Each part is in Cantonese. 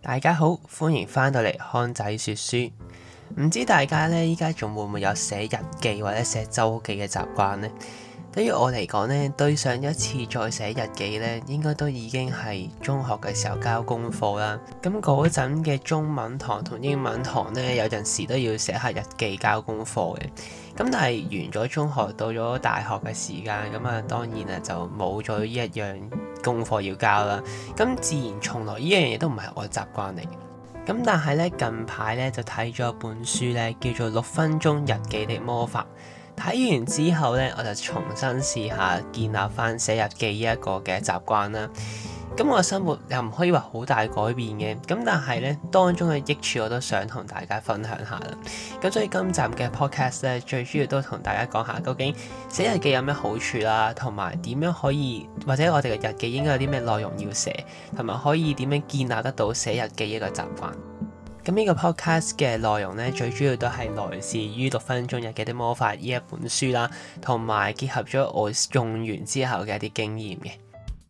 大家好，歡迎翻到嚟康仔說書。唔知大家呢，依家仲會唔會有寫日記或者寫週記嘅習慣呢？對於我嚟講呢，對上一次再寫日記呢，應該都已經係中學嘅時候交功課啦。咁嗰陣嘅中文堂同英文堂呢，有陣時都要寫下日記交功課嘅。咁但係完咗中學到咗大學嘅時間，咁啊當然啊就冇咗呢一樣功課要交啦。咁自然從來呢樣嘢都唔係我嘅習慣嚟。咁但係咧近排咧就睇咗一本書咧，叫做《6分鐘日記的魔法》。睇完之後咧，我就重新試下建立翻寫日記呢一個嘅習慣啦。咁我生活又唔可以話好大改變嘅，咁但係咧當中嘅益處我都想同大家分享下啦。咁所以今集嘅 podcast 咧，最主要都同大家講下究竟寫日記有咩好處啦，同埋點樣可以或者我哋嘅日記應該有啲咩內容要寫，同埋可以點樣建立得到寫日記一個習慣。咁呢個 podcast 嘅內容咧，最主要都係來自於《6分鐘日記的魔法》呢一本書啦，同埋結合咗我用完之後嘅一啲經驗嘅。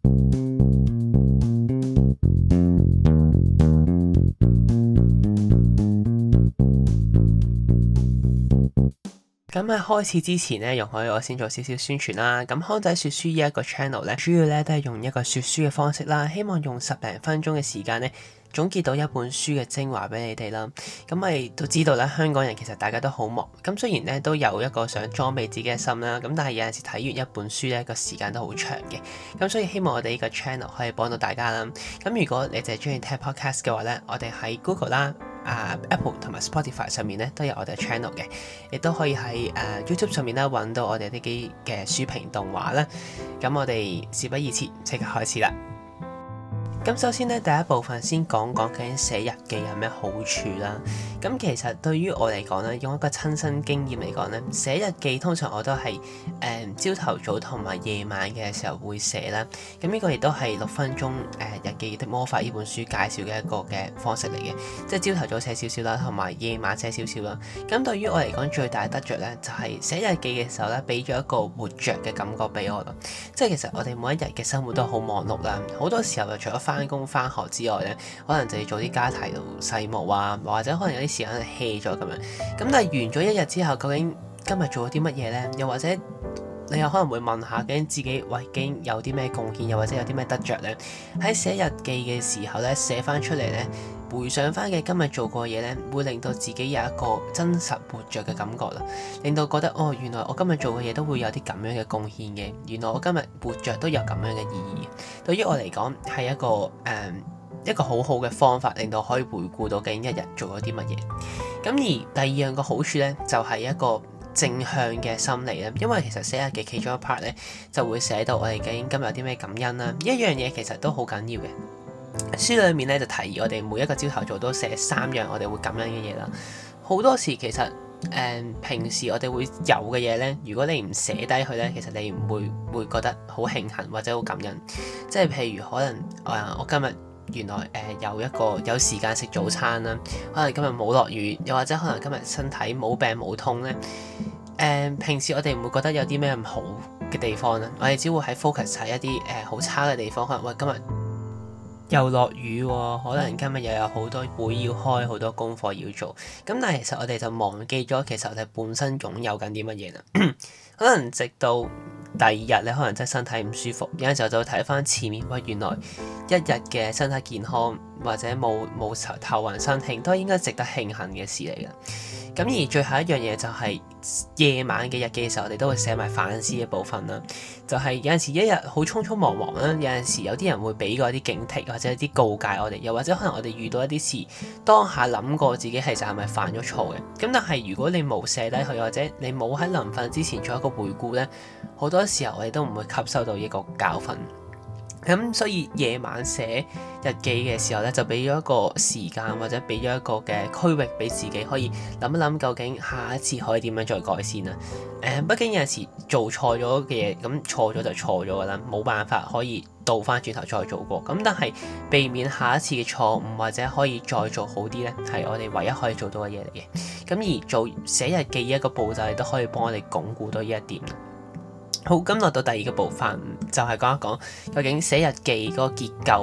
咁喺開始之前咧，容許我先做少少宣傳啦。咁康仔說書呢一個 channel 咧，主要咧都係用一個說書嘅方式啦，希望用10零分鐘嘅時間咧，總結到一本書嘅精華俾你哋啦。咁我哋都知道啦，香港人其實大家都好忙。咁雖然咧都有一個想裝備自己嘅心啦，咁但係有陣時睇完一本書咧，個時間都好長嘅。咁所以希望我哋呢個 channel 可以幫到大家啦。咁如果你淨係中意聽 podcast 嘅話咧，我哋喺 Google 啦、Apple 同埋 Spotify 上面咧都有我哋嘅 channel 嘅，亦都可以喺YouTube 上面咧揾到我哋呢啲嘅書評動畫啦。咁我哋事不宜遲，即刻開始啦！咁首先咧，第一部分先講講究竟寫日記有咩好處啦。咁其實對於我嚟講咧，用一個親身經驗嚟講咧，寫日記通常我都係朝頭早同埋夜晚嘅時候會寫啦。咁呢個亦都係6分鐘日記的魔法呢本書介紹嘅一個嘅方式嚟嘅，即係朝頭早寫少少啦，同埋夜晚寫少少啦。咁對於我嚟講最大得着咧，就係寫日記嘅時候咧，俾咗一個活着嘅感覺俾我咯。即係其實我哋每一日嘅生活都好忙碌啦，好多時候就除咗翻工翻學之外咧，可能就要做啲家庭細務啊，或者可能有啲時間係 hea 咗咁樣。咁但係完咗一日之後，究竟今日做咗啲乜嘢咧？又或者你有可能會問下，究竟自己究竟有啲咩貢獻，又或者有啲咩得着咧？喺寫日記嘅時候咧，寫翻出嚟咧，回想翻嘅今日做過嘢咧，會令到自己有一個真實活着嘅感覺啦，令到覺得哦，原來我今日做嘅嘢都會有啲咁樣嘅貢獻嘅，原來我今日活着都有咁樣嘅意義。對於我嚟講係一個好好嘅方法，令到可以回顧到究竟一日做咗啲乜嘢。咁而第二樣個好處咧，就係一個正向嘅心理咧，因為其實寫日記其中一 part 咧，就會寫到我哋究竟今日有啲咩感恩啦。呢一樣嘢其實都好緊要嘅。書裏面咧就提議我哋每一個朝頭早都寫3樣我哋會感恩嘅嘢啦。好多時其實平時我哋會有嘅嘢咧，如果你唔寫低佢咧，其實你唔會覺得好慶幸或者好感恩。即係譬如可能我今日原來有時間食早餐啦，可能今日冇落雨，又或者可能今日身體冇病冇痛咧。平時我哋唔會覺得有啲咩唔好嘅地方啦，我哋只會喺 focus 喺一啲好差嘅地方，可能喂今日又落雨喎，可能今日又有好多會要開，好多功課要做。咁但係其實我哋就忘記咗，其實我哋本身擁有緊啲乜嘢啦。可能直到第二日你可能真係身體唔舒服，有陣時候就會睇翻前面，喂原來一日嘅身體健康或者冇頭暈身㷫，都係應該值得慶幸嘅事嚟嘅。咁而最後一樣嘢就係夜晚嘅日記嘅時候，我哋都會寫埋反思嘅部分啦。就係有陣時一日好匆匆忙忙啦，有陣時有啲人會俾過一啲警惕或者一啲告誡我哋，又或者可能我哋遇到一啲事，當下諗過自己其實係咪犯咗錯嘅。咁但係如果你冇寫低佢，或者你冇喺臨瞓之前做一個回顧咧，好多時候我哋都唔會吸收到呢個教訓。咁所以夜晚寫日記嘅時候咧，就俾咗一個時間或者俾咗一個嘅區域俾自己可以諗一諗，究竟下一次可以點樣再改善啊？畢竟有陣時做錯咗嘅嘢，咁錯咗就錯咗噶啦，冇辦法可以倒翻轉頭再做過。咁但係避免下一次嘅錯誤或者可以再做好啲咧，係我哋唯一可以做到嘅嘢嚟嘅。咁而做寫日記一個步驟，亦都可以幫我哋鞏固到呢一點。好，咁落到第二個部分就係講一講究竟寫日記嗰個結構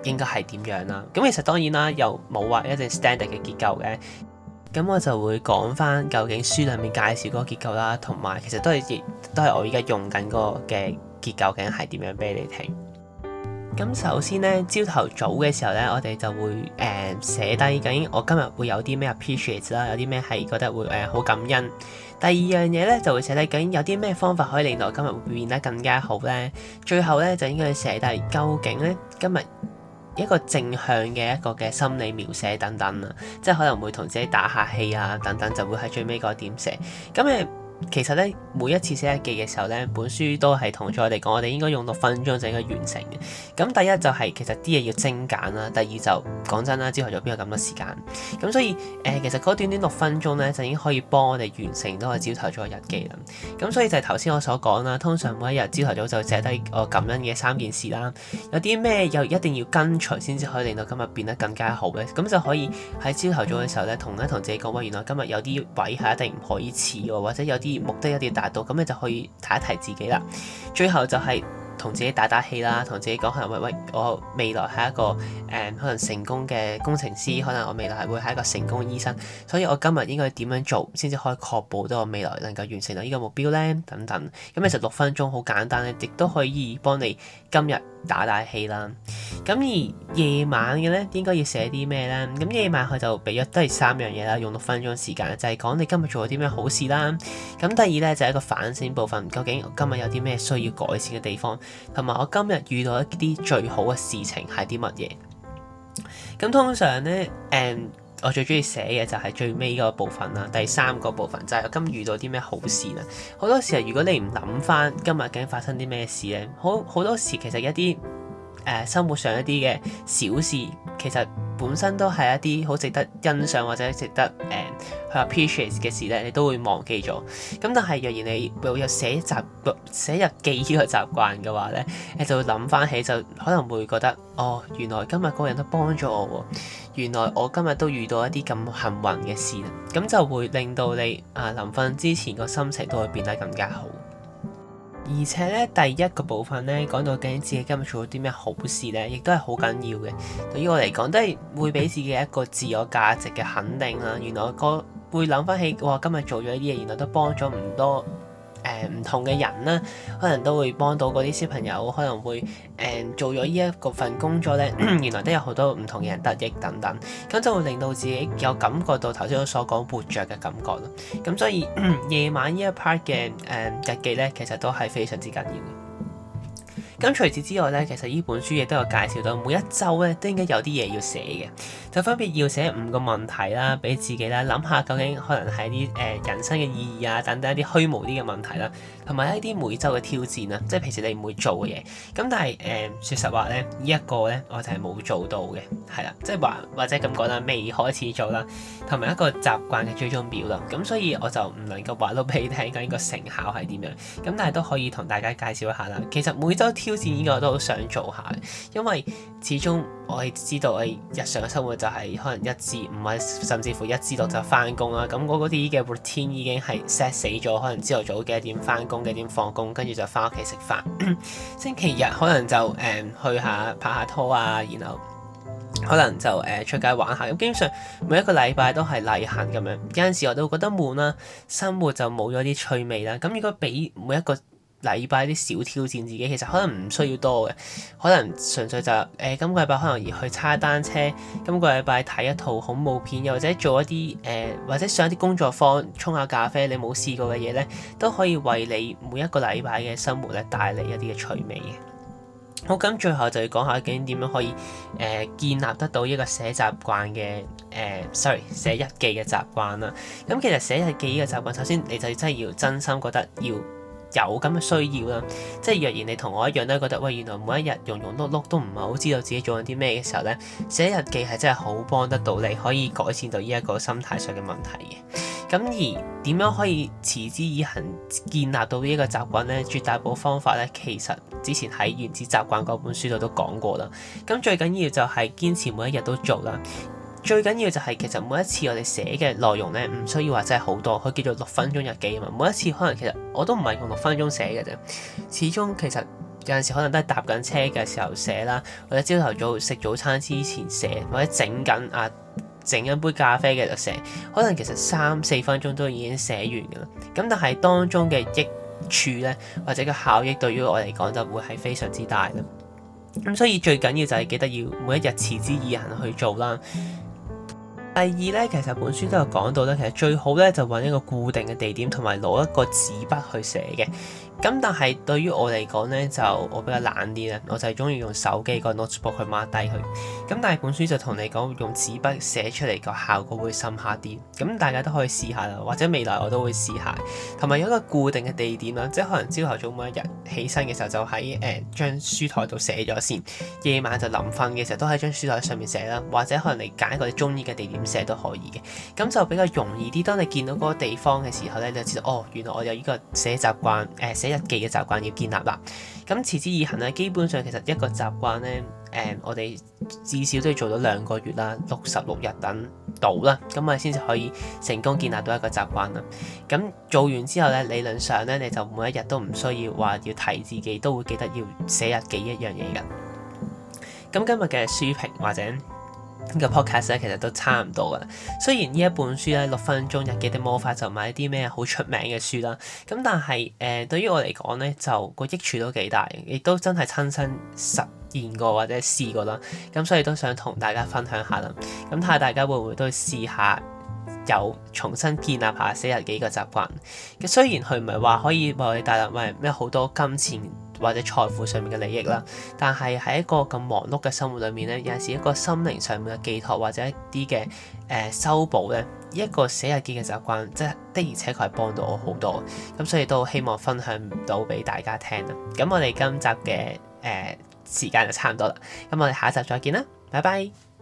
應該係點樣啦。咁其實當然啦，又冇話一定 standard 嘅結構嘅。咁我就會講翻究竟書裡面介紹嗰個結構啦，同埋其實都係我而家用緊嗰個嘅結構，究竟係點樣俾你聽。咁首先咧，朝頭早嘅時候咧，我哋就會寫低究竟我今日會有啲咩 appreciate 啦，有啲咩係覺得會好感恩。第二樣嘢咧就會寫低究竟有啲咩方法可以令到今日會變得更加好咧。最後咧就應該寫低究竟咧今日一個正向嘅一個嘅心理描寫等等啊，即係可能會同自己打下氣啊等等，就會喺最尾嗰點寫。咁其實咧每一次寫日記嘅時候咧，本書都係同咗我哋講，我哋應該用6分鐘就應該完成嘅。咁第一就係其實啲嘢要精簡啦，第二就講真啦，朝頭早邊有咁多時間？咁所以其實嗰短短6分鐘咧就已經可以幫我哋完成到個朝頭早嘅日記啦。咁所以就係頭先我所講啦，通常每一日朝頭早就寫低我感恩嘅3件事啦，有啲咩又一定要跟隨先至可以令到今日變得更加好咧。咁就可以喺朝頭早嘅時候咧，同自己講話，原來今日有啲位係一定唔可以遲喎，或者有啲目的一定要達到，咁你就可以提一提自己啦。最後就係同自己打打氣啦，同自己講可能喂，我未來係一個可能成功嘅工程師，可能我未來係會係一個成功嘅醫生，所以我今日應該點樣做先至可以確保到我未來能夠完成到呢個目標呢？等等。咁其實6分鐘好簡單咧，亦都可以幫你今日打打氣啦。咁而夜晚嘅咧，應該要寫啲咩咧？咁夜晚佢就俾咗都係3樣嘢啦，用6分鐘時間，就係講你今日做咗啲咩好事啦。咁第二咧就係一個反省部分，究竟我今日有啲咩需要改善嘅地方，同埋我今日遇到一啲最好嘅事情係啲乜嘢。咁通常咧，我最中意寫嘅就係最尾嗰個部分啦。第3個部分就係我今日遇到啲咩好事啦。好多時候如果你唔諗翻今日究竟發生啲咩事咧，好多時其實一啲生活上一啲嘅小事，其實本身都係一啲好值得欣賞或者值得去 appreciate 嘅事咧，你都會忘記咗。咁但係若然你會有寫日記呢個習慣嘅話咧，你就會諗翻起，就可能會覺得哦，原來今日嗰個人都幫咗我喎，原來我今日都遇到一啲咁幸運嘅事，咁就會令到你臨瞓之前個心情都會變得更加好。而且咧，第一個部分咧，講到究竟自己今日做咗啲咩好事咧，亦都係好緊要嘅。對於我嚟講，都係會俾自己一個自我價值嘅肯定啦。原來我會諗翻起，哇，今日做咗呢啲嘢，原來都幫咗唔多唔同嘅人啦，可能都會幫到嗰啲小朋友，可能會做咗呢一個份工作咧，原來都有好多唔同嘅人得益等等，咁就會令到自己有感覺到頭先我所講活着嘅感覺咯。咁所以夜晚呢一 part 嘅日記咧，其實都係非常之緊要嘅。咁除此之外咧，其實呢本書亦都有介紹到每一週咧都應該有啲嘢要寫嘅，就分別要寫5個問題啦，俾自己啦諗下究竟可能係啲人生嘅意義啊等等一啲虛無啲嘅問題啦，同埋一啲每週嘅挑戰啊，即係平時你唔會做嘅嘢。咁但係說實話咧，呢一個咧我就係冇做到嘅，係啦，即係話或者咁講啦，未開始做啦，同埋一個習慣嘅追蹤表啦。咁所以我就唔能夠話到俾你聽緊個成效係點樣，咁但係都可以同大家介紹一下啦。其實每週挑戰呢個我都好想做下，因為始終我係知道我日常嘅生活就係可能1至5或甚至乎1至6就翻工啦。咁我嗰啲嘅 routine 已經係 set 死咗，可能朝頭早幾點翻工，幾點放工，跟住就翻屋企食飯。星期日可能就去下拍下拖啊，然後可能就出街玩下。咁基本上每一個禮拜都係例行咁樣。有陣時我都會覺得悶啦，生活就冇咗啲趣味啦。咁如果俾每一個禮拜啲小挑戰自己，其實可能唔需要多嘅，可能純粹就今個禮拜可能要去踩單車，今個禮拜睇一套恐怖片，又或者做一啲或者上一啲工作坊沖下咖啡，你冇試過嘅嘢咧，都可以為你每一個禮拜嘅生活咧帶嚟一啲嘅趣味嘅。好，咁最後就要講下究竟點樣可以建立得到一個寫習慣嘅寫日記嘅習慣啦。咁其實寫日記呢個習慣，首先你就真係要真心覺得要有咁嘅需要啦，即係若然你同我一樣都覺得，喂，原來每一日庸庸碌碌都唔係好知道自己做緊啲咩嘅時候咧，寫日記係真係好幫得到你，可以改善到呢一個心態上嘅問題嘅。咁而點樣可以持之以恆建立到呢一個習慣咧？絕大部分方法咧，其實之前喺原子習慣嗰本書度都講過啦。咁最緊要就係堅持每一日都做啦。最緊要就係其實每一次我哋寫嘅內容咧，唔需要話真係好多，佢叫做6分鐘日記啊嘛。每一次可能其實我都唔係用6分鐘寫嘅啫，始終其實有陣時可能都係搭緊車嘅時候寫啦，或者朝頭早食早餐之前寫，或者整緊杯咖啡嘅就寫，可能其實3-4分鐘都已經寫完㗎啦。咁但係當中嘅益處咧，或者個效益對於我嚟講就會係非常之大啦。咁所以最緊要就係記得要每一日持之以恆去做啦。第二咧，其實本書都有講到咧，其實最好咧就揾一個固定嘅地點，同埋攞一個紙筆去寫嘅。咁但係對於我嚟講咧，就我比較懶啲啦，我就係中意用手機個 notebook 去 mark 低佢。咁但係本書就同你講，用紙筆寫出嚟個效果會深刻啲。咁大家都可以試下啦，或者未來我都會試下。同埋有一個固定嘅地點啦，即係可能朝頭早每一日起身嘅時候就喺張書台度寫咗先，夜晚就臨瞓嘅時候都喺張書台上面寫啦，或者可能你揀一個你中意嘅地點寫都可以嘅。咁就比較容易啲。當你見到嗰個地方嘅時候咧，你就知道哦，原來我有呢個寫習慣寫日記嘅習慣要建立啦。咁持之以恆咧，基本上其實一個習慣咧，我哋至少都要做到2個月啦，66日等到啦，咁我哋先至可以成功建立到一個習慣啦。咁做完之後咧，理論上咧，你就每一日都唔需要話要提自己，都會記得要寫日記一樣嘢㗎。咁今日嘅書評或者呢個 podcast 咧，其實都差唔多噶啦。雖然呢一本書咧，6分鐘日記的魔法就唔係一啲咩好出名嘅書啦，咁但係對於我嚟講咧，就個益處都幾大，亦都真係親身實驗過或者試過啦。咁所以都想同大家分享下啦。咁睇下大家會唔會都試下有重新建立下寫日記嘅習慣。嘅雖然佢唔係話可以為我哋帶來咩好多金錢或者財富上面嘅利益啦，但係喺一個咁忙碌嘅生活裏面咧，有陣時一個心靈上面嘅寄託或者一啲嘅修補咧，一個寫日記嘅習慣，即係的而且確係幫到我好多。咁所以都希望分享到俾大家聽啦。咁我哋今集嘅時間就差唔多啦，咁我哋下一集再見啦，拜拜。